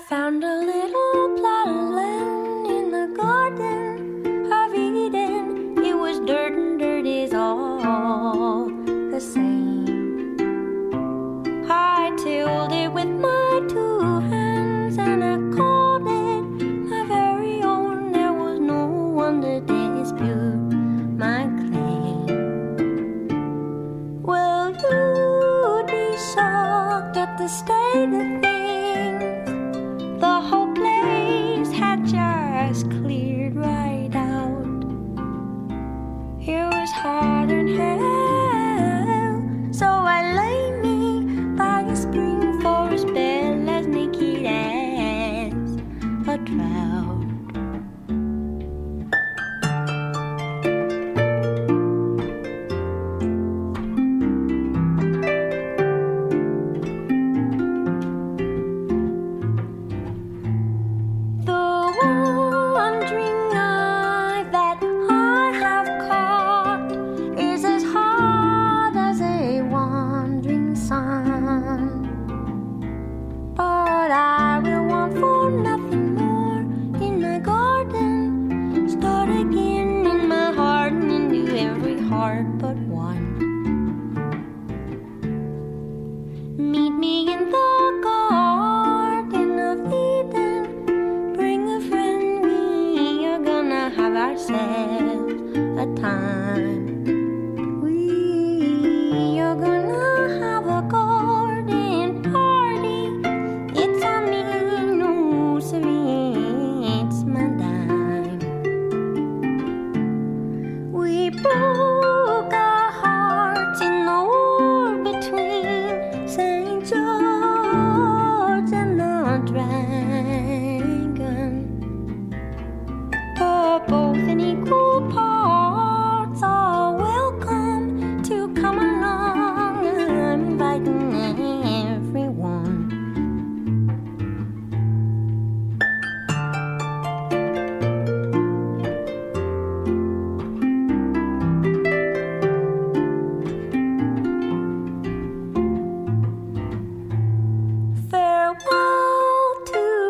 found a little plot of land in the garden of Eden. It was dirt and dirt is all the same. I tilled it with my 2 hands and I called it my very own. There was no one to dispute my claim. Well, you'd be shocked at the state of things. The whole place had just cleared right out. It was hot and hell, so I lay me by a spring for a spell as naked as a trout. But one. Meet me in the Garden of Eden. Bring a friend, we are gonna have ourselves a time. We are gonna have a garden party. It's on me, no siree, it's my dime. We broke our hearts in the war between St. George and the dragon. But both in equal parts are welcome to come along. I'm inviting everyone. Farewell to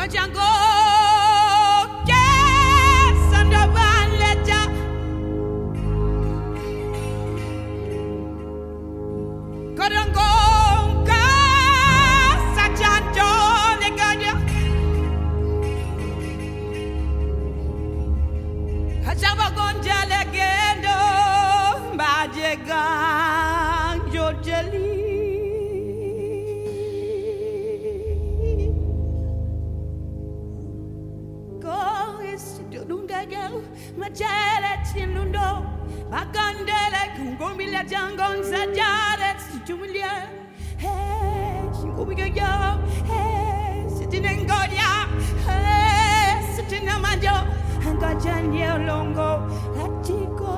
Kajango Sandabaleta Karango Sajanto Leganya Kajabagonja Legendo Bajegang Jojeli Majalet Sinundo, Bagandele, Kumbila Jangon, Sajaret, Julia, hey, Shikubiga, hey, sitting in Godia, hey, sitting in Manjo, and Gajania Longo, Latiko.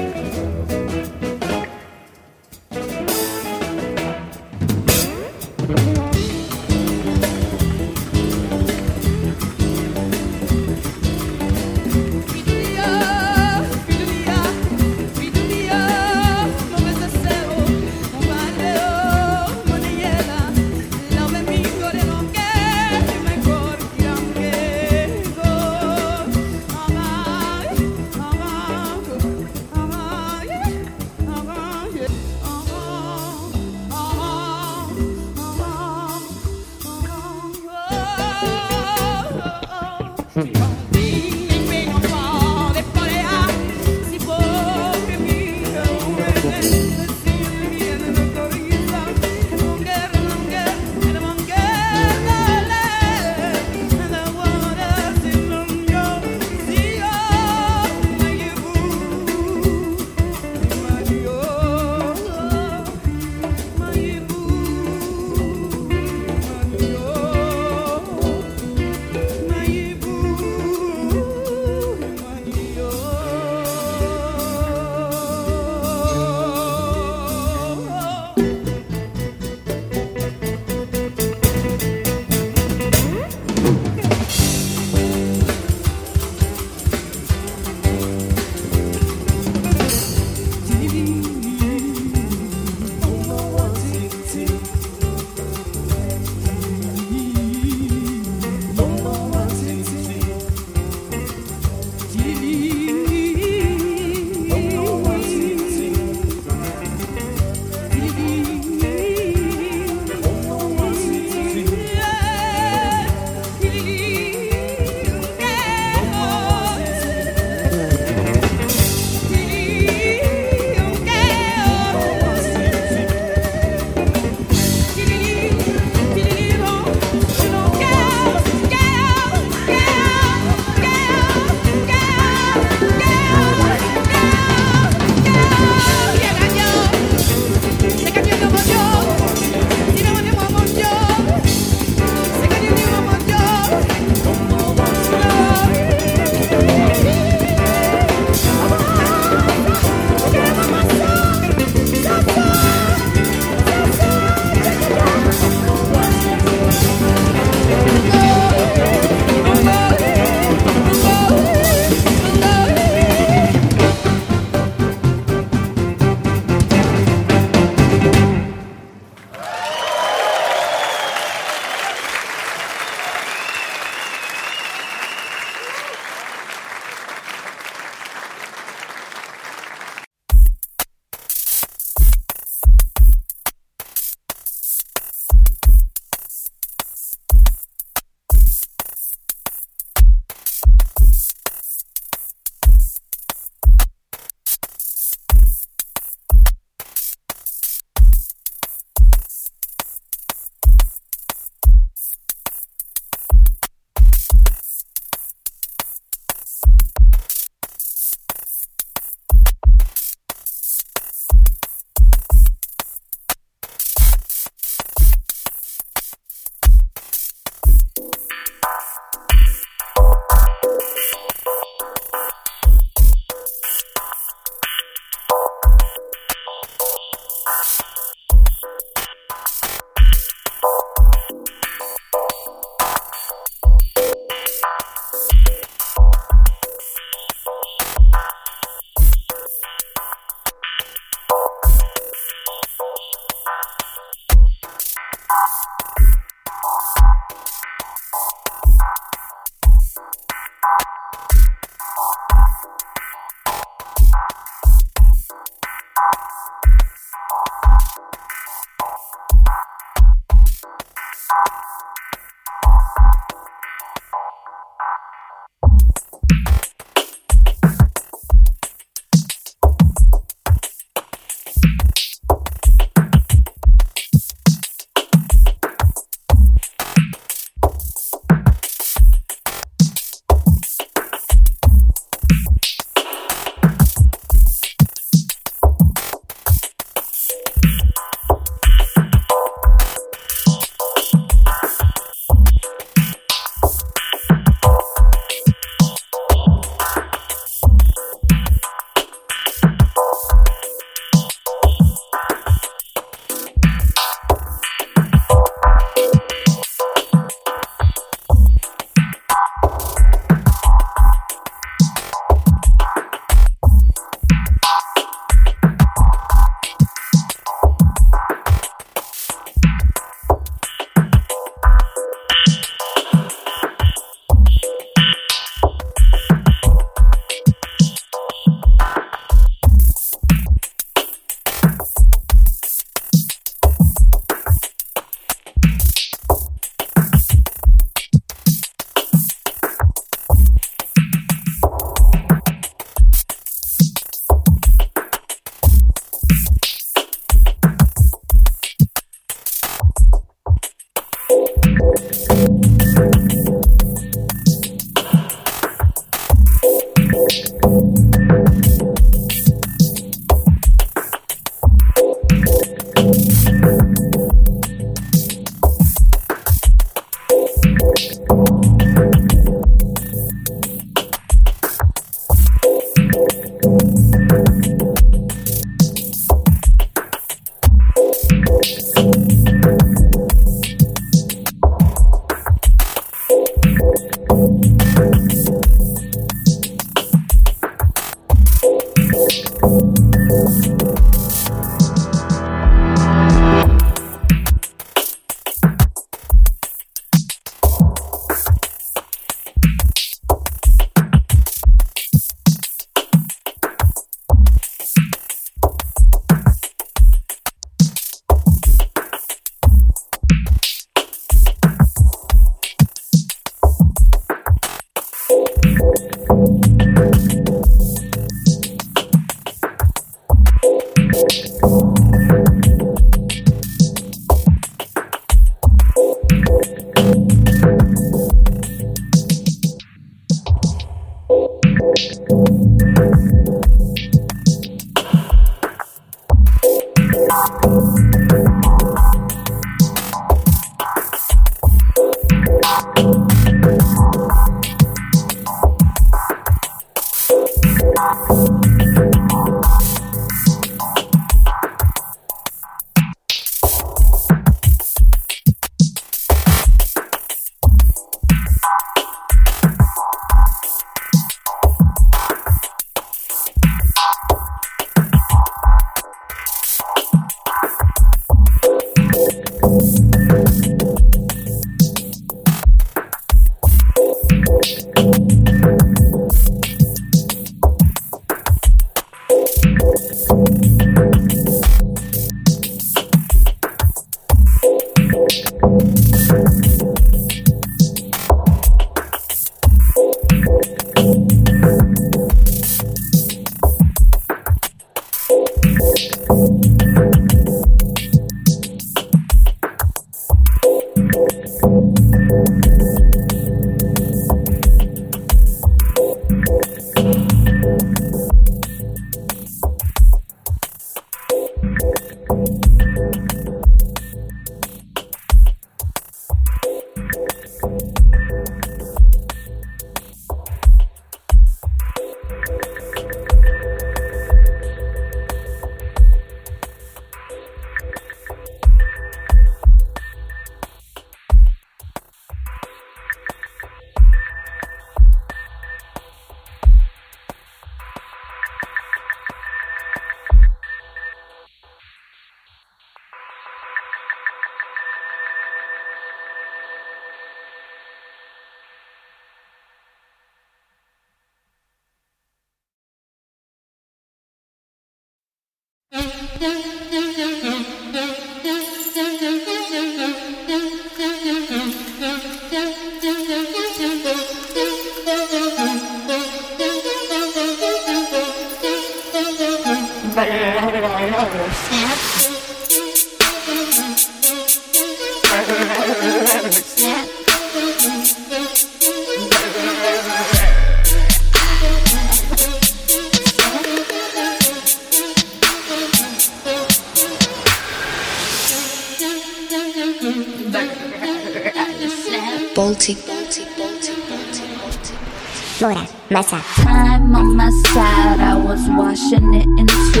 Flora, Massa. Time on my side, I was washing it into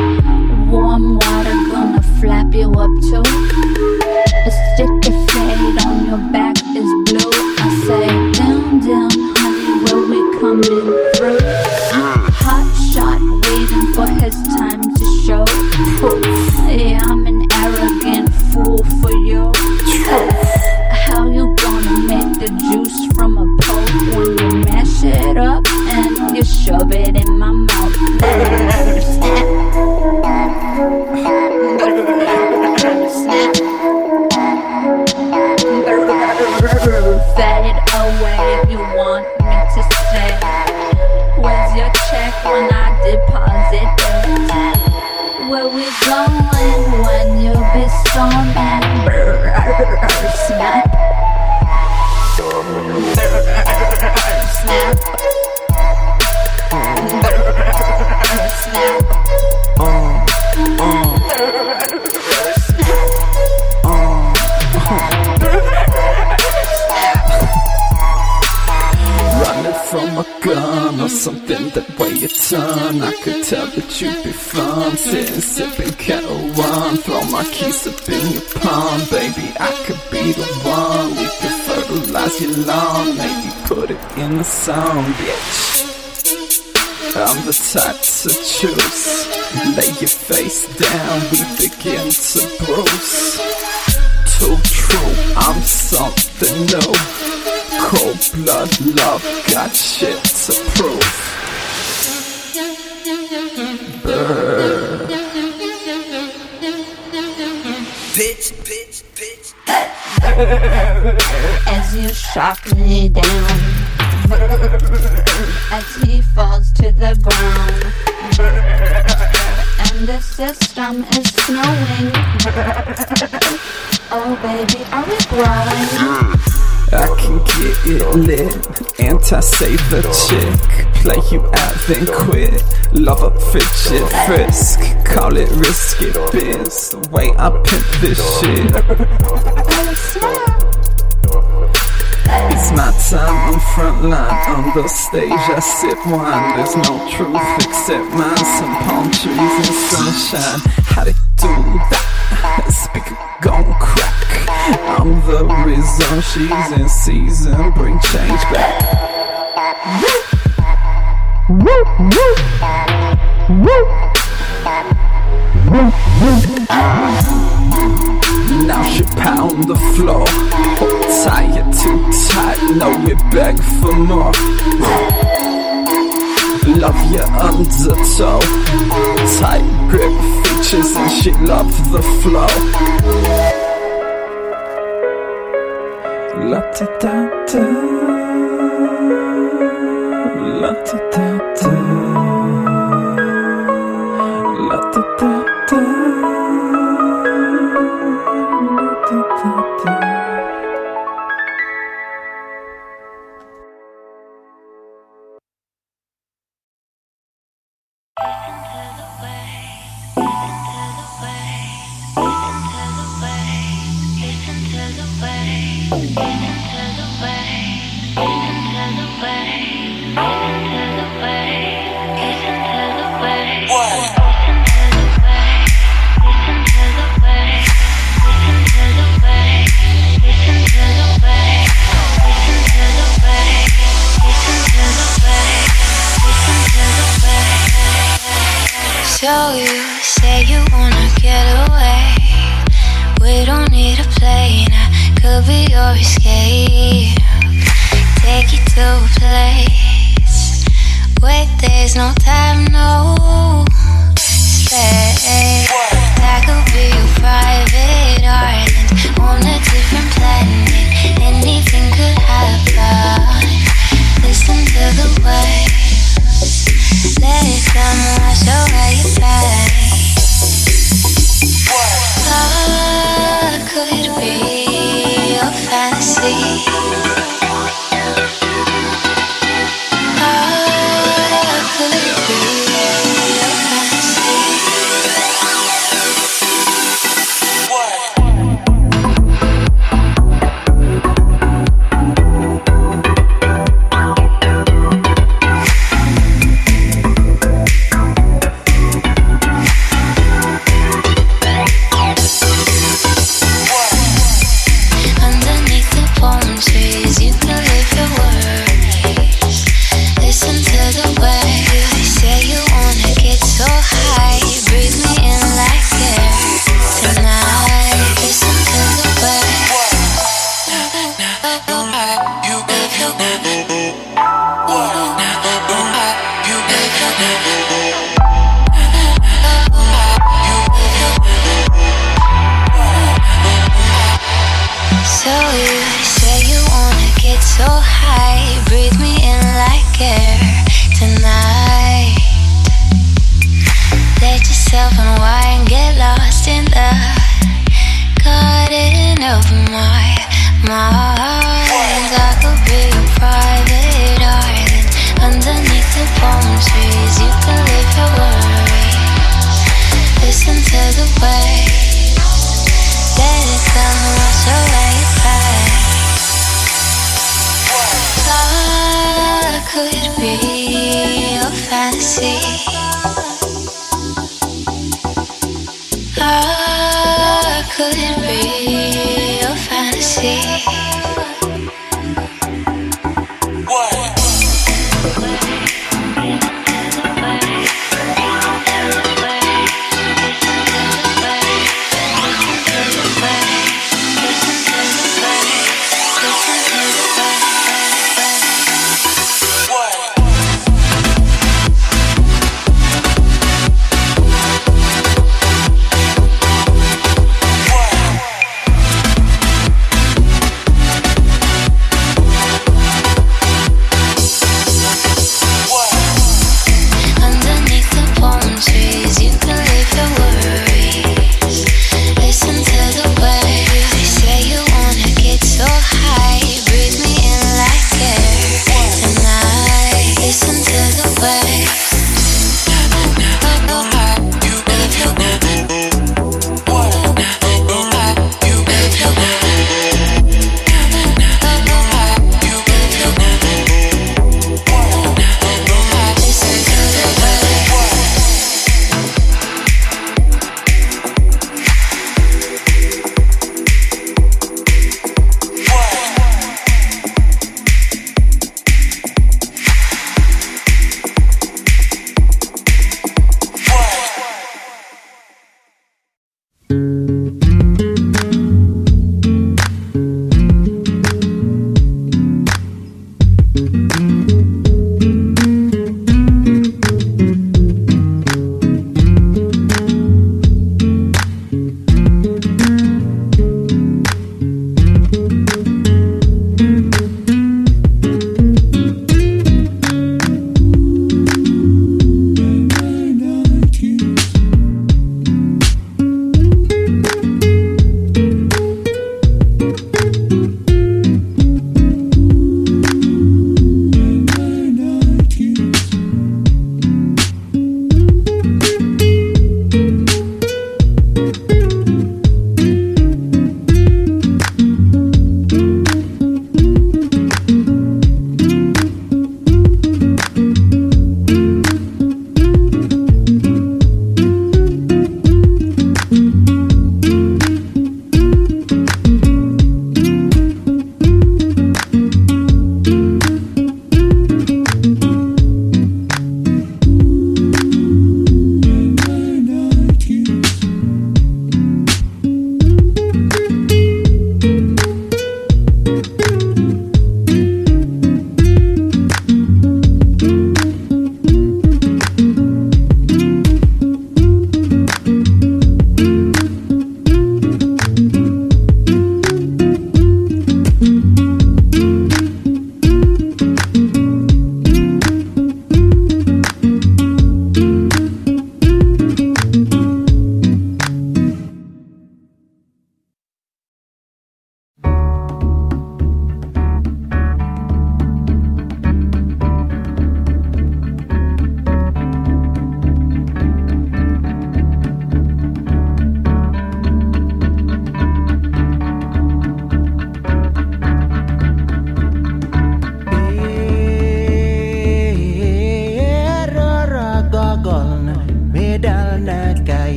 warm water, gonna flap you up too. A sticky fade on your back is blue. I say, down, down, honey, where we coming through? Hot shot, waiting for his time to show. Yeah, I'm an arrogant fool for you. How you gonna make the juice from a poke when you mash it up and you shove it in my mouth? Fat it away if you want me to say. Where's your check when I deposit it? Where we going when you be storming? Snap. Snap. Snap. Running from a gun or something that way you turn. I could tell that you'd be fun, sitting sipping kettle one. Throw my keys up in your palm, baby, I could be the one. We could fertilize your lawn, maybe put it in the song, bitch. I'm the type to choose. Lay your face down, we begin to bruise. Too true, I'm something new. Cold blood love, got shit to prove. Brr. Bitch, bitch, bitch. As you shock me down, as he falls to the ground, and and this system is snowing. Oh baby, are we growing? I can get it lit, anti-save the chick. Play you out then quit. Love up fidget frisk. Call it risky biz. The way I pimp this shit. It's my time on front line. On the stage I sip wine. There's no truth except mine. Some palm trees and sunshine. How they do that? Speaker gon' crack. I'm the reason she's in season. Bring change back. Now she pound the floor. Tie it too tight, now we beg for more. Love your undertow. Tight grip features and she loves the flow. La da da da, la da da da, la da da da, la da da da. So you say you wanna get away. We don't need a plane, I could be your escape. Take you to a place where there's no time, no space. That could be your private island on a different planet. Anything could happen. Listen to the waves. Let it come wash away your pain. What could be your fantasy? What could be your fantasy?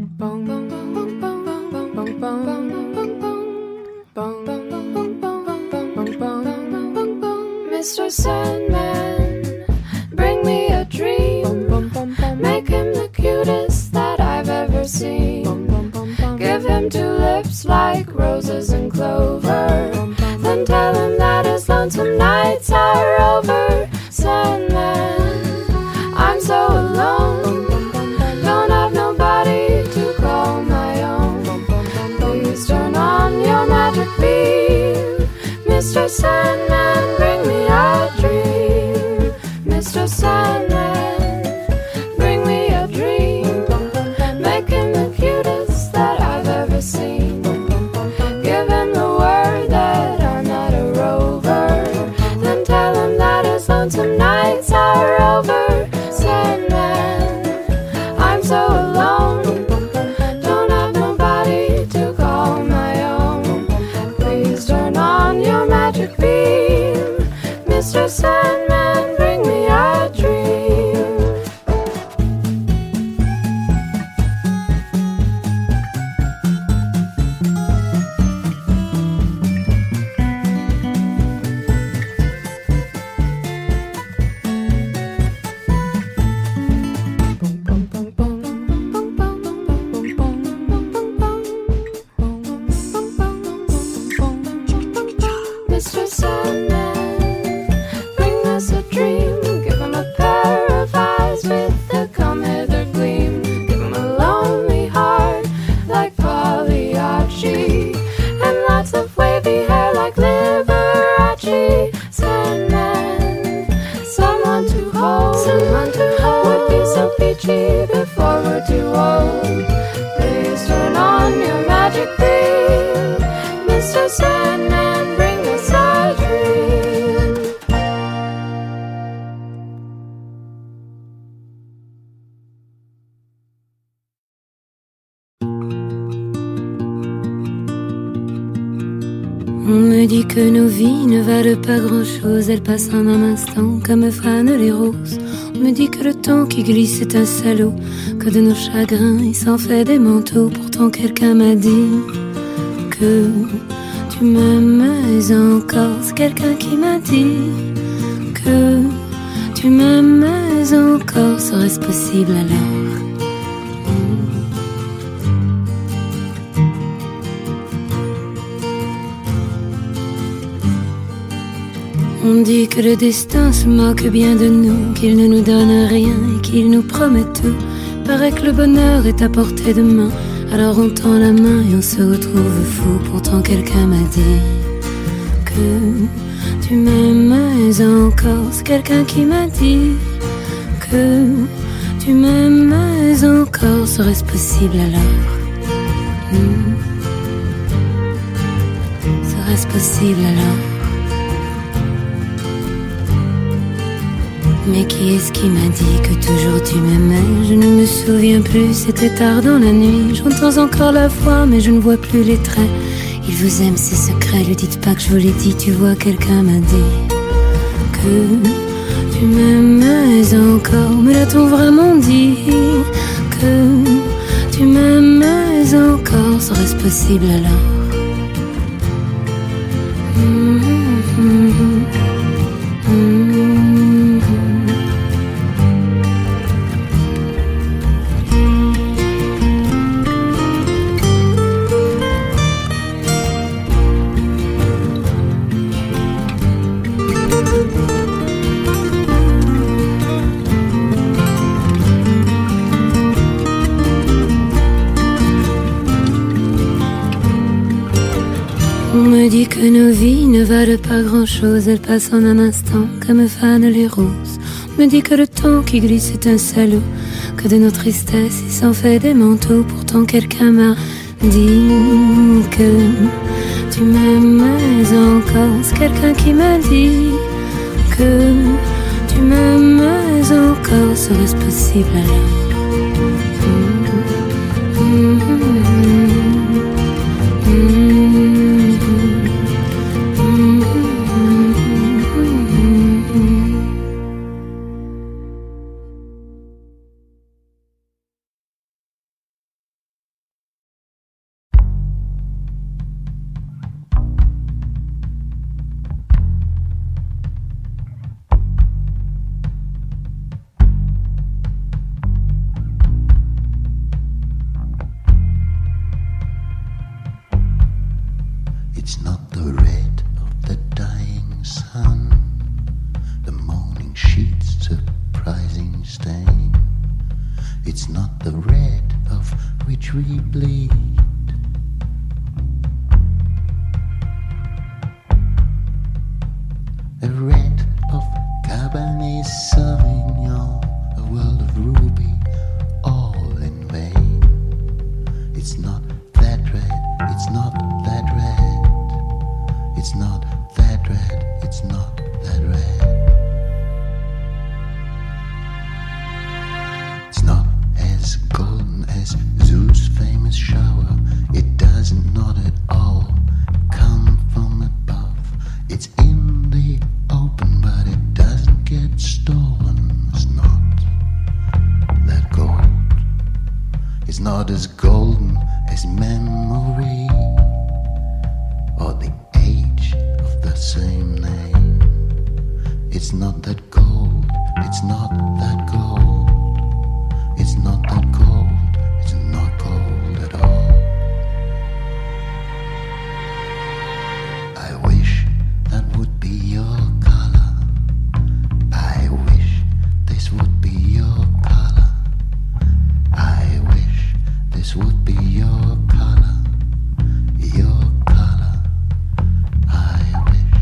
Mr. Sandman, bring me a dream. Make him the cutest that I've ever seen. Give him two lips like roses and clover. Then tell him that his lonesome nights are over. Sandman, I'm so alone. Don't have nobody to call my own. Please turn on your magic beam. Mr. Sandman, bring me a dream. Mr. Sandman, bring me a dream. Make him the cutest that I've ever seen. Give him the word that I'm not a rover. Then tell him that his lonesome nights are over. Sandman, I'm so alone. Don't have nobody to call my own. Please turn on your magic beam. Mr. Sandman, bring me a dream. Mr. Sandman, bring us a dream. Give him a pair of eyes with a come hither gleam. Give him a lonely heart like Pagliacci, and lots of wavy hair like Liberace. Sandman, someone to hold would be so peachy before we're too old. Please turn on your magic beam. Mr. Sandman, bring us a dream. On me dit que nos vies ne valent pas grand-chose, elles passent en un instant comme fanent les roses. On me dit que le temps qui glisse est un salaud, que de nos chagrins il s'en fait des manteaux. Pourtant quelqu'un m'a dit que tu m'aimes encore. C'est quelqu'un qui m'a dit que tu m'aimes encore. Serait-ce possible alors? On dit que le destin se moque bien de nous, qu'il ne nous donne rien et qu'il nous promet tout. Paraît que le bonheur est à portée de main, alors on tend la main et on se retrouve fou. Pourtant quelqu'un m'a dit que tu m'aimes encore. C'est quelqu'un qui m'a dit que tu m'aimes encore. Serait-ce possible alors? Serait-ce possible alors? Mais qui est-ce qui m'a dit que toujours tu m'aimais? Je ne me souviens plus, c'était tard dans la nuit. J'entends encore la voix, mais je ne vois plus les traits. Il vous aime, c'est secret, lui dites pas que je vous l'ai dit. Tu vois, quelqu'un m'a dit que tu m'aimes encore. Me l'a-t-on vraiment dit que tu m'aimes encore? Serait-ce possible alors? On me dit que nos vies ne valent pas grand-chose, elles passent en un instant comme fanent les roses. On me dit que le temps qui glisse est un salaud, que de nos tristesses il s'en fait des manteaux. Pourtant quelqu'un m'a dit que tu m'aimes encore. C'est quelqu'un qui m'a dit que tu m'aimes encore. Serait-ce possible alors? It's not the red of the dying sun, the morning sheet's surprising stain. It's not the red of which we bleed. A red of Cabernet Sauvignon, a world of ruby, all in vain. It's not that red, it's not that red. It's not that red, it's not that red. It's not as golden as Zeus' famous shower. It doesn't not at all come from above. It's in the open, but it doesn't get stolen. It's not that gold. It's not as golden as memory or the age of the same name. It's not that gold. It's not that gold. It's not that gold. It's not gold at all. I wish that would be your color. I wish this would be your color. I wish this would be your color. Your color. I wish.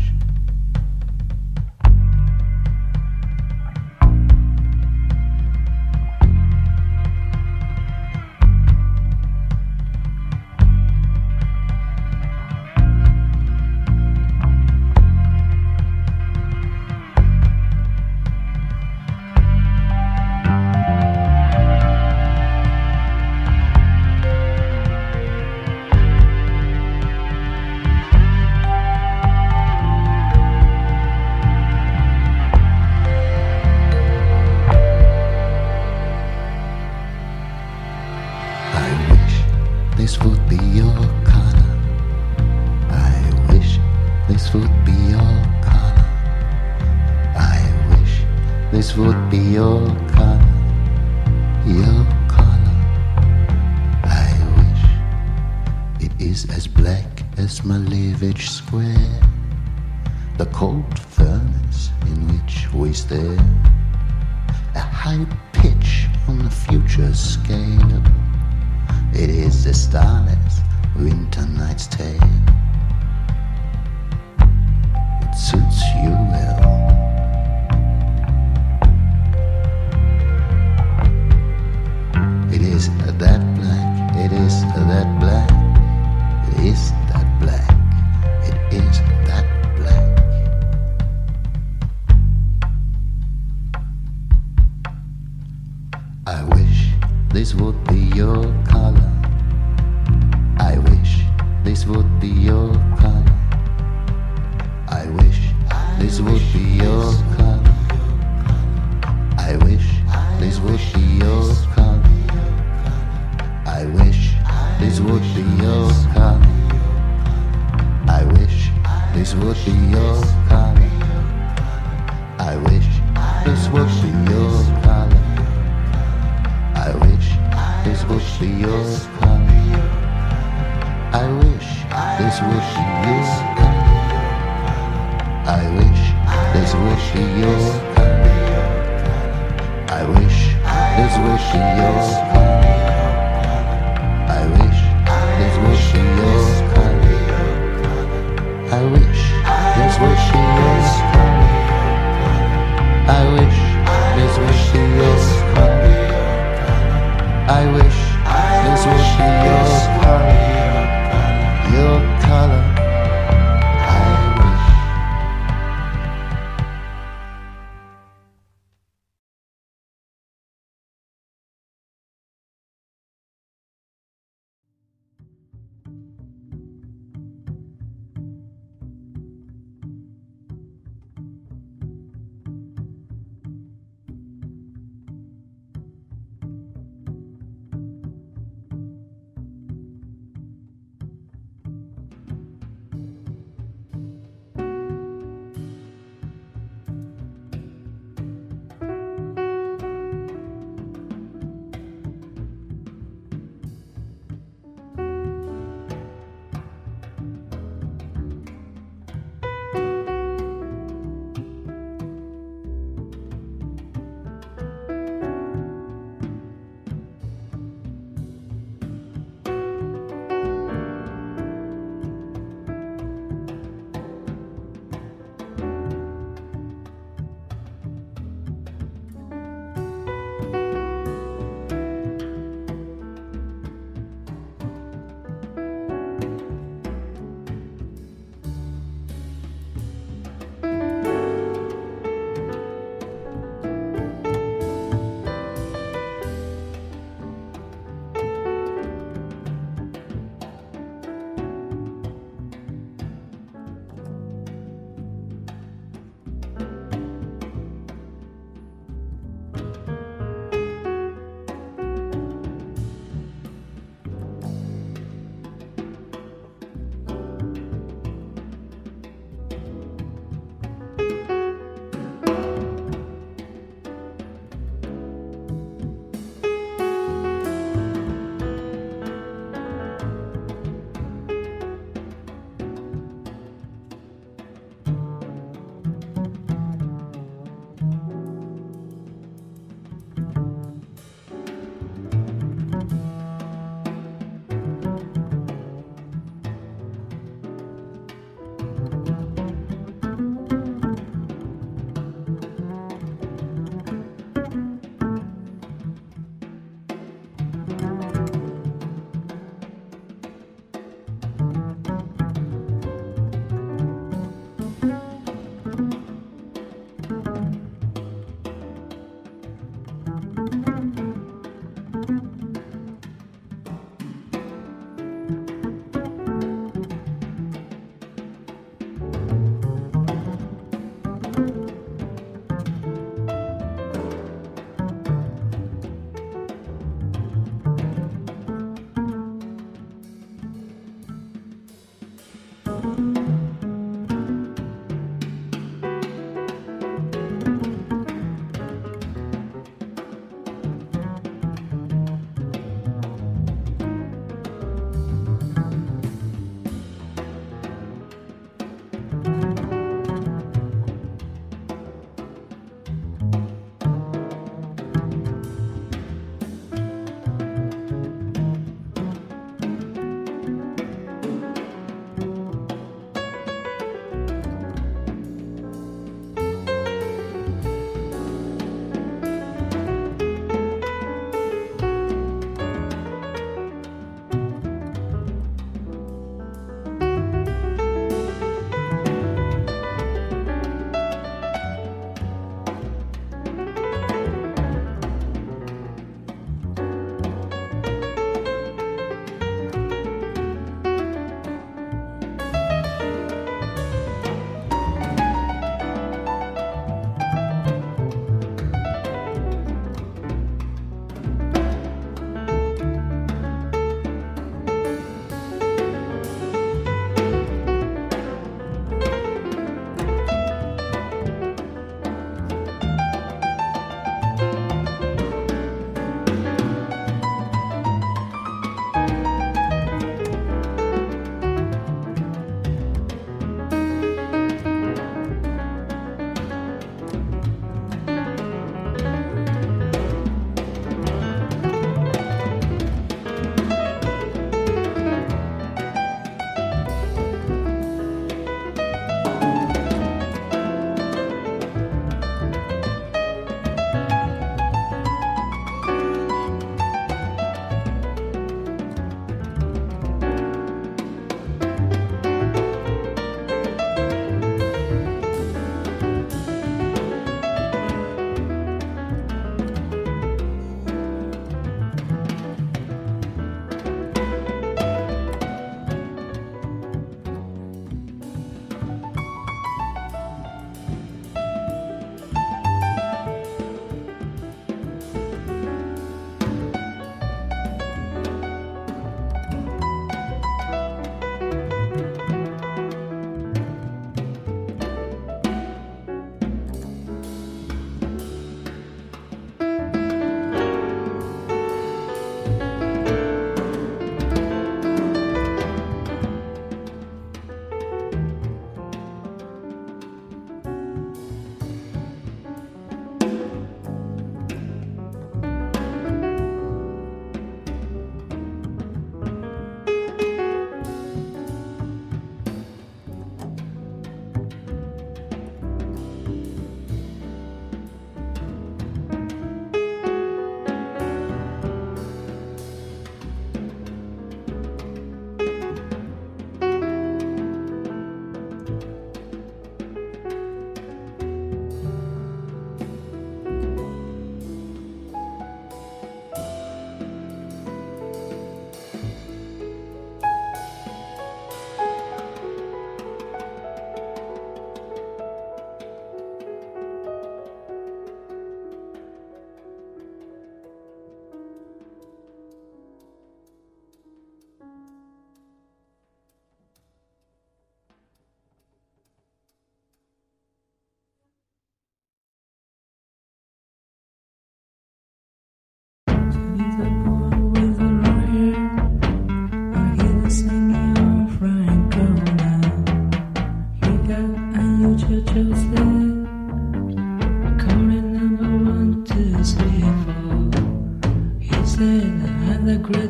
This would be your color. I wish this would be your color. I wish this would be your color. Your color. I wish it is as black as Malevich Square, the cold furnace in which we stare, a high pitch on the future scale. It is a starless winter night's tale. It suits you well. It is that black, it is that black, it is that black, it is that black. I wish this would be your color. I wish this would be your color. I wish this would be your color. I wish this would be your color. I wish this would be your color. I wish this would be your color. I wish this would be your color. I wish this would be your color. I wish this would be your color. I wish this would be your color. I wish this would be your color. I wish this would be your color. I wish this would be your color. I wish this would be your color. I wish this would be your color. Your color. I wish.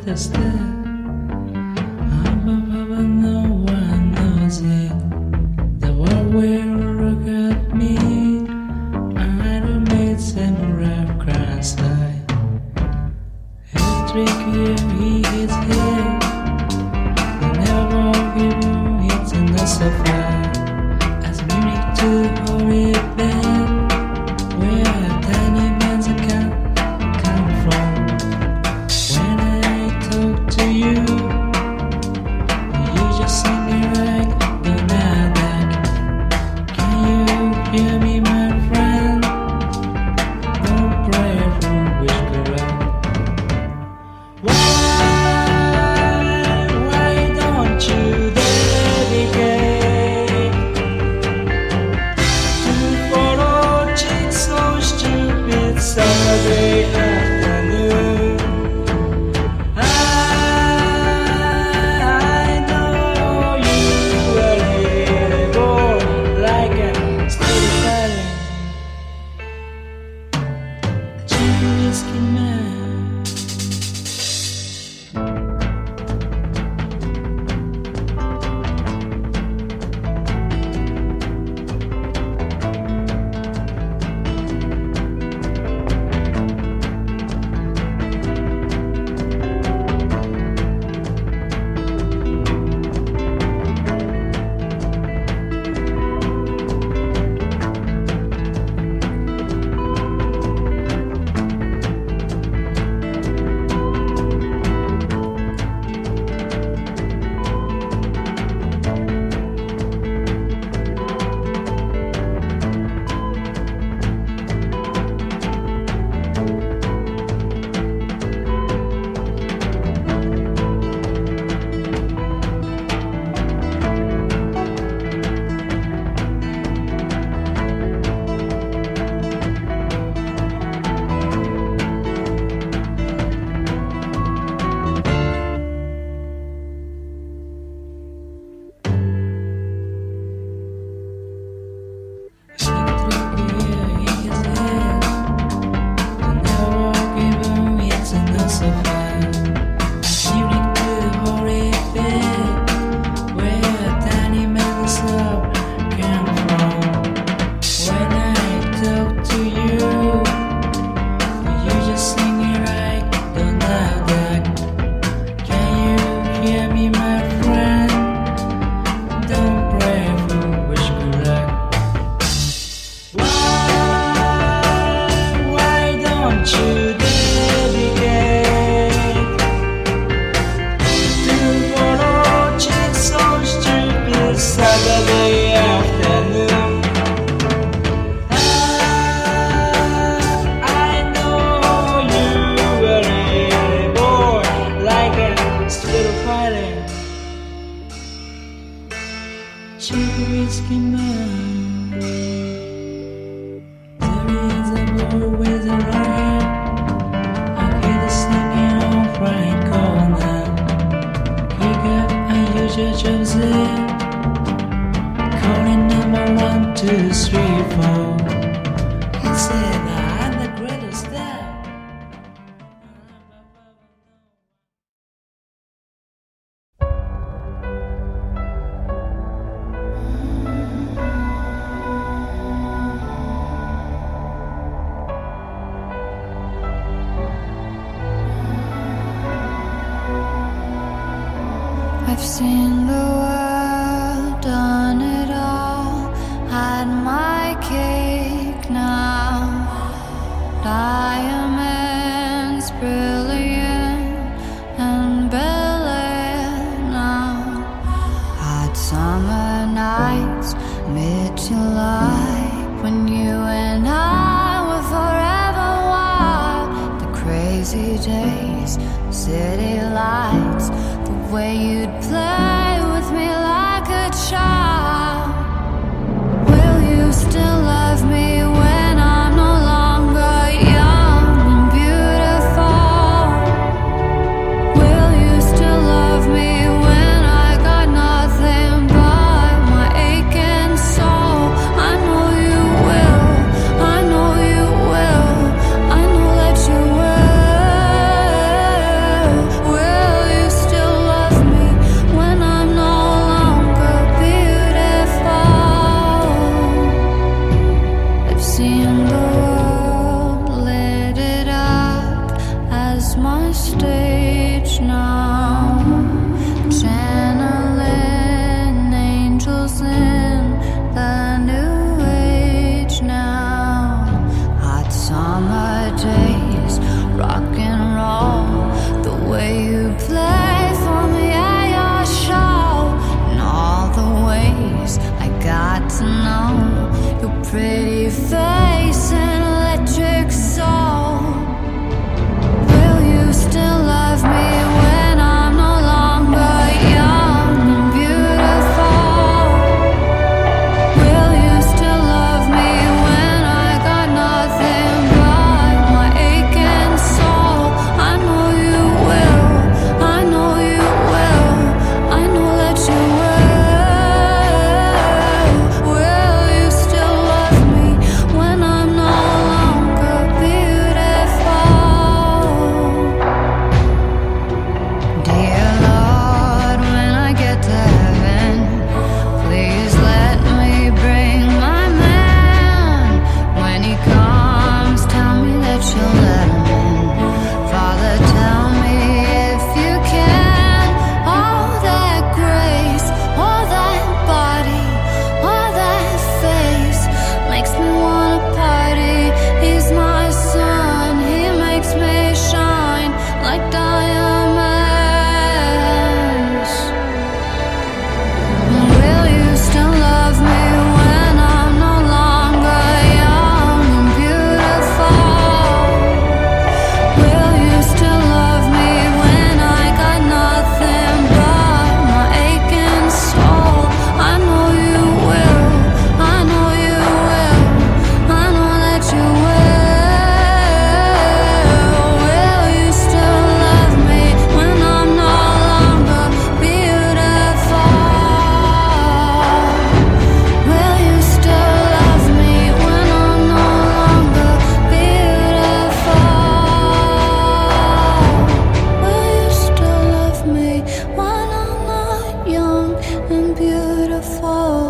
greater step. Up above and no one knows it. The world will look at me. I don't make some rough cries like electric here, he hits here. The never give you hits in the sofa. As music to holy bed, where tiny man's can come from. When I talk to you, you just sing me like the Nasdaq. Can you hear me, my friend? Don't pray for witchcraft. Why don't you dedicate to follow chicks so stupid Saturday afternoon? I know you were able like a steady fighting Jimmy Whiskey Man. Saturday afternoon. I know you were able like a still fighting Jimmy Whiskey Man. There is a boy with a riot. I hear the singing of right corner. Kick up and you just jumps in. Calling number 1, 2, 3, 4. He said I'm the greatest star. I've seen the world, done it all, had my cake now. Diamonds brilliant and Bel-Air now. Hot summer nights, mid-July, when you and I were forever wild. The crazy days, city lights, the way you'd play with me like a child. Will you still love me when I'm no longer young and beautiful? Will you still love me when I got nothing but my aching soul? I know you will, I know you will, I know that you will. and beautiful.